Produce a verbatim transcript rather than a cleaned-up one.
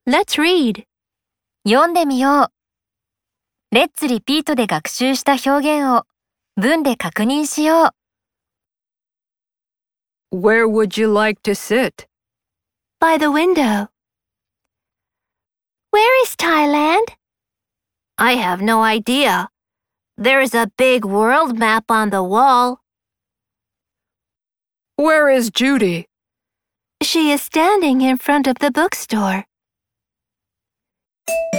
Let's read. 読んでみよう。Let's repeat で学習した表現を文で確認しよう。Where would you like to sit? By the window. Where is Thailand? I have no idea. There's a big world map on the wall. Where is Judy? She is standing in front of the bookstore.